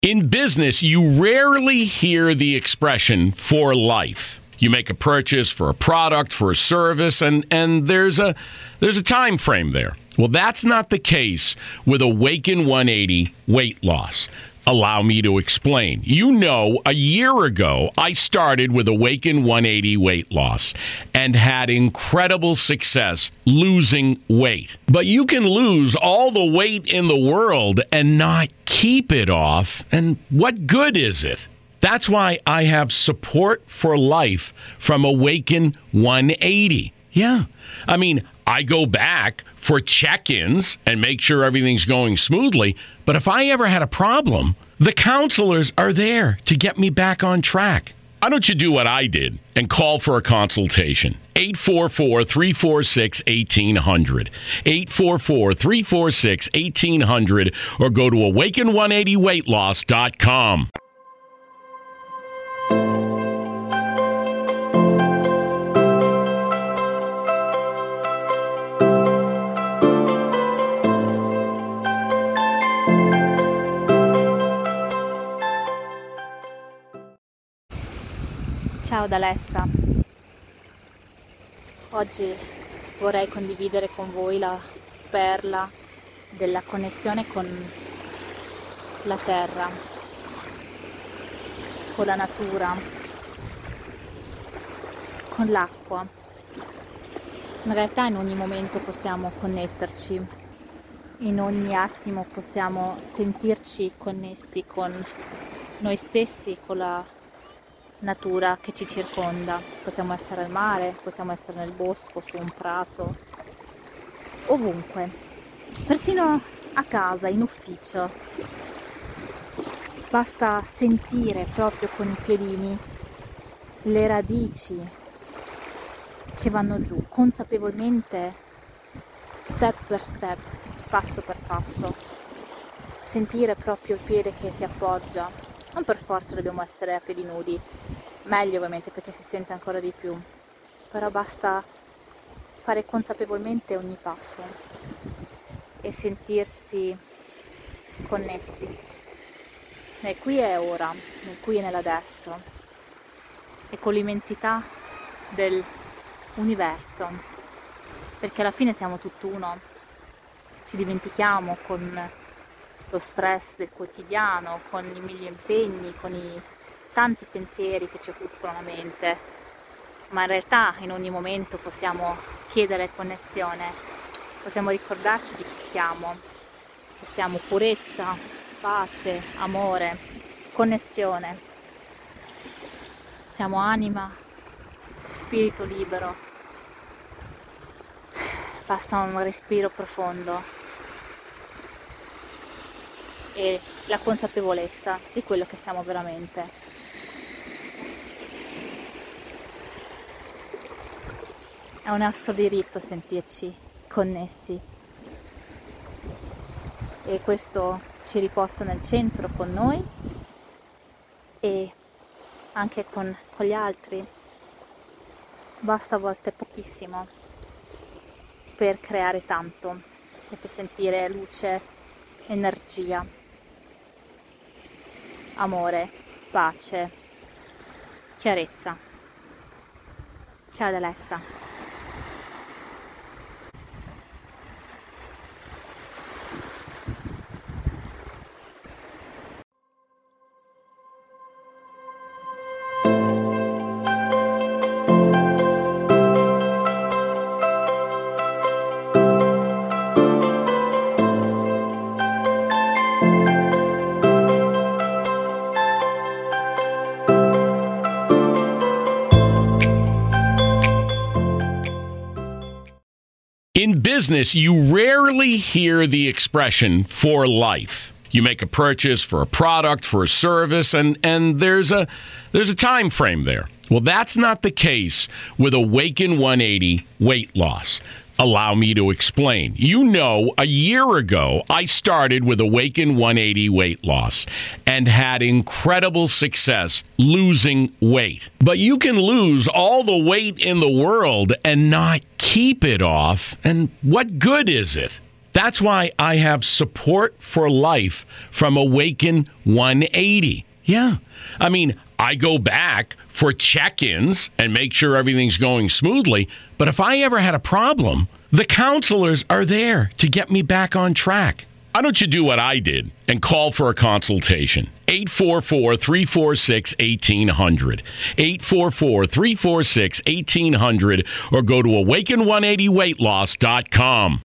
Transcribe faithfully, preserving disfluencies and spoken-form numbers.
In business, you rarely hear the expression for life. You make a purchase for a product, for a service, and, and there's a there's a time frame there. Well, that's not the case with Awaken one eighty weight loss. Allow me to explain. You know, a year ago, I started with Awaken one eighty weight loss and had incredible success losing weight. But you can lose all the weight in the world and not keep it off. And what good is it? That's why I have support for life from Awaken one eighty. Yeah. I mean, I go back for check-ins and make sure everything's going smoothly. But if I ever had a problem, the counselors are there to get me back on track. Why don't you do what I did and call for a consultation? eight four four, three four six, one eight zero zero. eight four four, three four six, one eight zero zero or go to awaken one eighty weight loss dot com. Ciao da Alessa, oggi vorrei condividere con voi la perla della connessione con la terra, con la natura, con l'acqua. In realtà in ogni momento possiamo connetterci, in ogni attimo possiamo sentirci connessi con noi stessi, con la natura che ci circonda. Possiamo essere al mare, possiamo essere nel bosco, su un prato, ovunque, persino a casa, in ufficio. Basta sentire proprio con i piedini le radici che vanno giù, consapevolmente, step per step, passo per passo. Sentire proprio il piede che si appoggia. Non per forza dobbiamo essere a piedi nudi, meglio ovviamente perché si sente ancora di più, però basta fare consapevolmente ogni passo e sentirsi connessi nel qui e ora, nel qui e nell'adesso e con l'immensità dell'universo, perché alla fine siamo tutt'uno. Ci dimentichiamo con lo stress del quotidiano, con i mille impegni, con i tanti pensieri che ci offuscano la mente, ma in realtà in ogni momento possiamo chiedere connessione, possiamo ricordarci di chi siamo, che siamo purezza, pace, amore, connessione, siamo anima, spirito libero. Basta un respiro profondo e la consapevolezza di quello che siamo veramente. È un nostro diritto sentirci connessi e questo ci riporta nel centro con noi e anche con, con gli altri. Basta a volte pochissimo per creare tanto e per sentire luce, energia, amore, pace, chiarezza. Ciao da Alessa. In business, you rarely hear the expression for life. You make a purchase for a product, for a service, and, and there's a there's a time frame there. Well, that's not the case with Awaken one eighty weight loss. Allow me to explain. You know, a year ago, I started with Awaken one eighty weight loss and had incredible success losing weight. But you can lose all the weight in the world and not keep it off. And what good is it? That's why I have support for life from Awaken one eighty. Yeah. I mean, I go back for check-ins and make sure everything's going smoothly. But if I ever had a problem, the counselors are there to get me back on track. Why don't you do what I did and call for a consultation? eight four four, three four six, one eight zero zero. eight four four, three four six, one eight zero zero or go to awaken one eighty weight loss dot com.